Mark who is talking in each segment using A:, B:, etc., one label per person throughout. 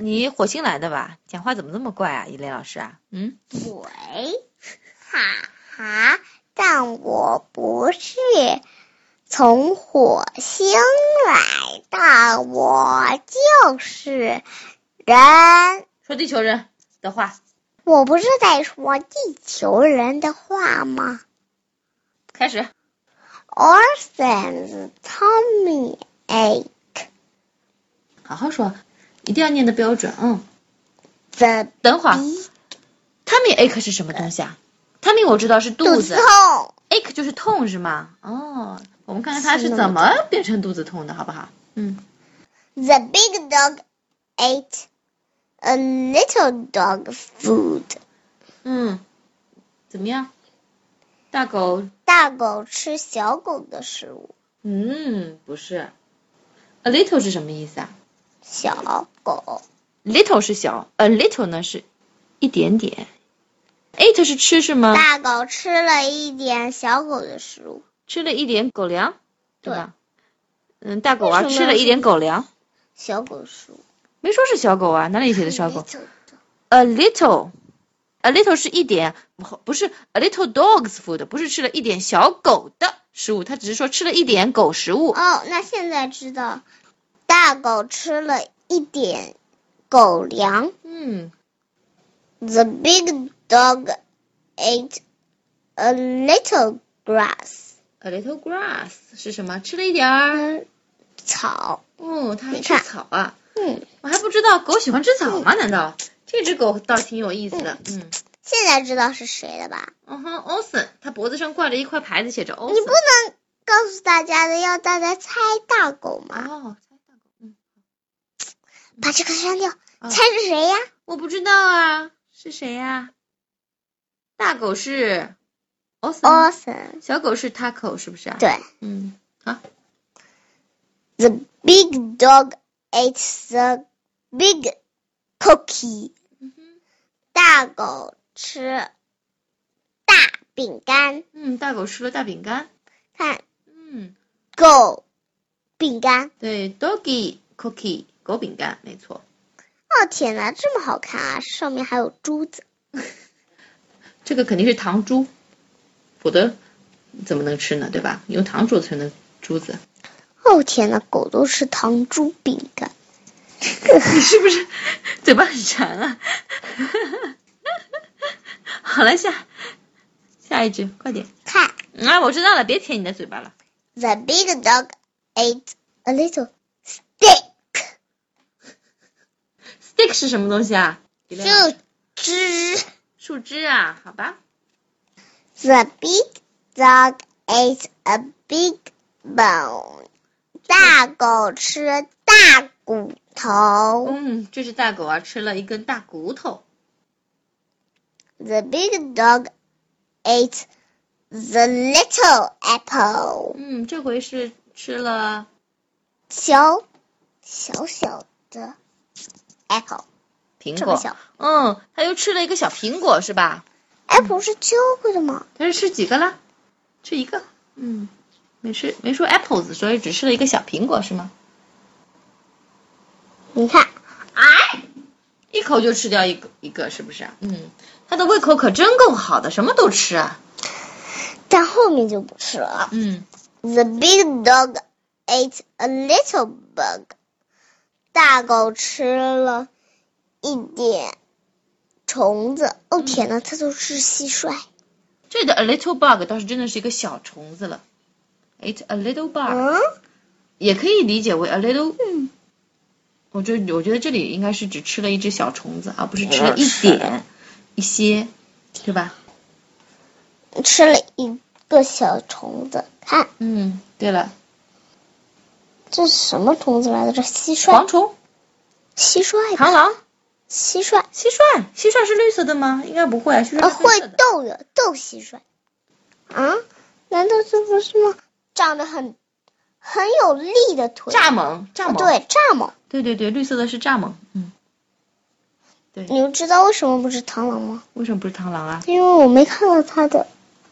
A: 你火星来的吧？讲话怎么这么怪啊，伊蕾老师啊？
B: 喂，哈哈，但我不是从火星来的，我就是人。
A: 说地球人的话。
B: 我不是在说地球人的话吗？
A: 开始。
B: Orson's tummy ache.
A: 好好说，一定要念的标准。等会儿 tummy ache 是什么东西啊？ tummy 我知道是肚子
B: 痛
A: ache 就是痛是吗？哦，我们看看它是怎么变成肚子痛的，好不好
B: ？The big dog ate a little dog food.
A: 怎么样？大狗
B: 吃小狗的食物。
A: 不是。A little 是什么意思啊？
B: 小狗。
A: little 是小， a little 呢是一点点。ate 是吃是吗？
B: 大狗吃了一点小狗的食物。
A: 吃了一点狗粮，对吧？大狗啊吃了一点狗粮。
B: 小狗食物。
A: 没说是小狗啊，哪里写的小狗？A little 是一点，不是 a little dog's food， 不是吃了一点小狗的食物，它只是说吃了一点狗食物。
B: 哦，那现在知道，大狗吃了一点狗粮。The big dog ate a little grass.
A: A little grass 是什么？吃了一点
B: 草。
A: 它还吃草啊？我还不知道狗喜欢吃草吗？难道？这只狗倒挺有意思的。
B: 现在知道是谁了吧
A: ？Olsen， 它脖子上挂着一块牌子，写着 Olsen。
B: 你不能告诉大家的，要大家猜大狗吗？
A: 猜大狗。
B: 把这个删掉。猜是谁呀？
A: 我不知道啊，是谁呀？大狗是 Olsen， 小狗是 Taco， 是不是啊？
B: 对。
A: 好。
B: The big dog ate the big cookie. 大狗吃大饼干。
A: 大狗吃了大饼干。
B: 看。狗饼干。
A: 对 ，doggy cookie， 狗饼干，没错。
B: 哦天哪，这么好看啊！上面还有珠子。
A: 这个肯定是糖珠，否则怎么能吃呢？对吧？用糖做成的珠子。
B: 哦天哪，狗都吃糖珠饼干。
A: 你是不是嘴巴很馋啊？好了，下一只，快点
B: 看。
A: 我知道了，别舔你的嘴巴了。
B: The big dog ate a little stick.
A: Stick 是什么东西啊？树枝啊，好吧。
B: The big dog ate a big bone. 大狗吃大骨头。
A: 这是大狗啊，吃了一根大骨头。
B: The big dog ate the little apple.
A: 这回是吃了
B: 小的 apple，
A: 苹果。它又吃了一个小苹果，是吧
B: ？Apple 是揪过的吗？
A: 它是吃几个了？吃一个。没说 apples， 所以只吃了一个小苹果，是吗？
B: 你看，
A: 一口就吃掉一个，是不是？它的胃口可真够好的，什么都吃啊。
B: 但后面就不吃了。The big dog ate a little bug. 大狗吃了一点虫子。哦天哪，它都是蟋蟀。
A: 这里的 a little bug 倒是真的是一个小虫子了。Ate a little bug，也可以理解为 a little。我觉得这里应该是只吃了一只小虫子，而不是吃了一些，对吧？
B: 吃了一个小虫子，看。
A: 对了。
B: 这是什么虫子来的？这蟋蟀。
A: 蝗虫。
B: 蟋蟀。
A: 螳螂。
B: 蟋蟀
A: 是绿色的吗？应该不会。蟋蟀
B: 会斗蟋蟀。难道这不是吗？长得很有力的腿。
A: 蚱蜢。
B: 对，蚱蜢。
A: 对，绿色的是蚱蜢。对。
B: 你们知道为什么不是螳螂吗？
A: 为什么不是螳螂啊？
B: 因为我没看到它的。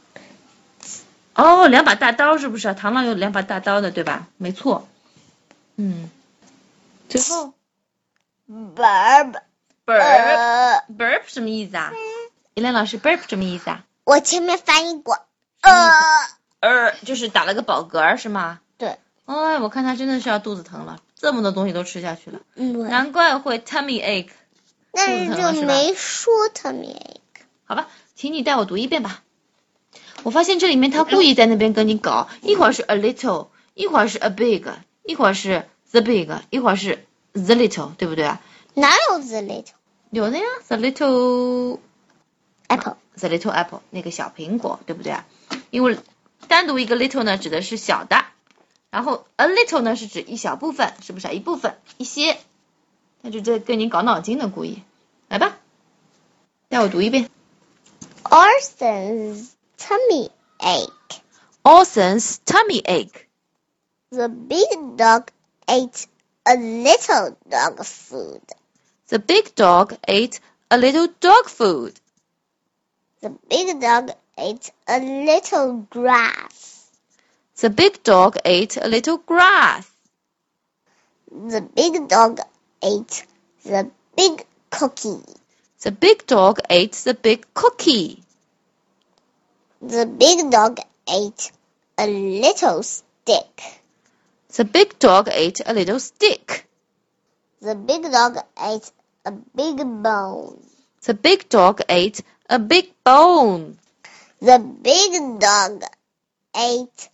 A: 两把大刀是不是？螳螂有2把大刀的，对吧？没错。最后
B: burp
A: burp 什么意思啊？依兰老师 burp 什么意思啊？
B: 我前面翻译过。
A: 就是打了个饱嗝是吗？
B: 对。
A: 哎，我看他真的是要肚子疼了，这么多东西都吃下去了。难怪会 tummy ache。
B: 但是就没说 tummy ache。
A: 好吧，请你带我读一遍吧。我发现这里面他故意在那边跟你搞，一会儿是 a little， 一会儿是 a big， 一会儿是 the big， 一会儿是 the little， 对不对啊？
B: 哪有 the little？
A: 有的呀 ，the little
B: apple。the
A: little apple 那个小苹果，对不对啊？因为单独一个 little 呢指的是小的，然后 a little 呢是指一小部分，是不是啊？一部分，一些。他就在跟你搞脑筋的，故意。来吧，带我读一遍。
B: Orson's tummy ache.
A: Orson's tummy ache.
B: The big dog ate a little dog food.
A: The big dog ate a little dog food.
B: The big dog ate a little grass.
A: The big dog ate a little grass.
B: The big dog ate the big cookie.
A: The big dog ate the big cookie.
B: The big dog ate a little stick.
A: The big dog ate a little stick.
B: The big dog ate a big bone.
A: The big dog ate a big bone.
B: The big dog ate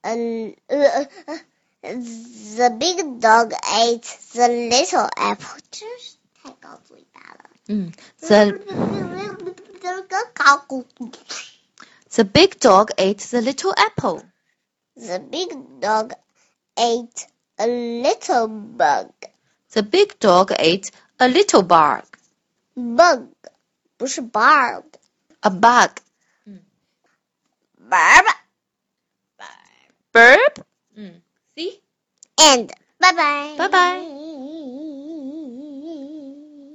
B: the big dog ate the little apple. 真是太高嘴巴了。
A: The big dog ate the little apple.
B: The big dog ate a little bug.
A: The big dog ate a little bug.
B: Bug 不是 bug.
A: A bug.
B: Burp.
A: Burp. See?
B: And bye bye.
A: Bye bye.